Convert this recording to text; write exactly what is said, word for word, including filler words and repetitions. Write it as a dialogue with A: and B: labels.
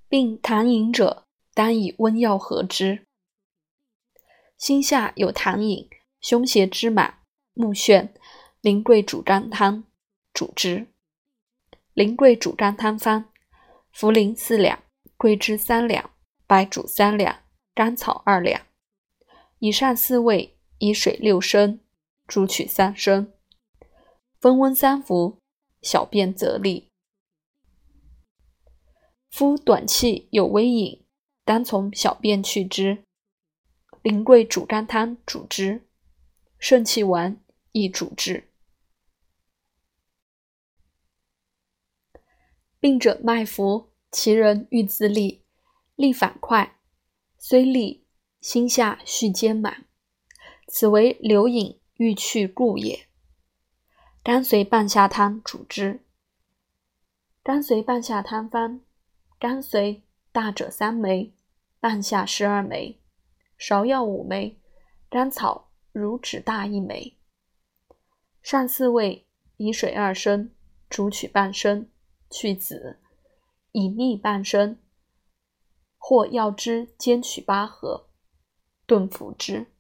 A: 并痰饮者，当以温药和之。心下有痰饮、胸胁之满、目眩，苓桂煮甘汤，主之。苓桂煮甘汤方：茯苓四两，桂枝三两，白术三两，甘草二两。以上四味，以水六升，煮取三升，分温三服，小便则利。夫短气有微饮，当从小便去之。苓桂煮甘汤主之，肾气顽亦主之。病者脉浮，其人欲自利，利反快，虽利，心下续坚满，此为流饮欲去故也。甘遂半夏汤主之。甘遂半夏汤方：甘遂大者三枚，半夏十二枚，芍药五枚，甘草如指大一枚。上四味，以水二升，煮取半升，去籽，以蜜半升，或药汁煎取八合，炖服之。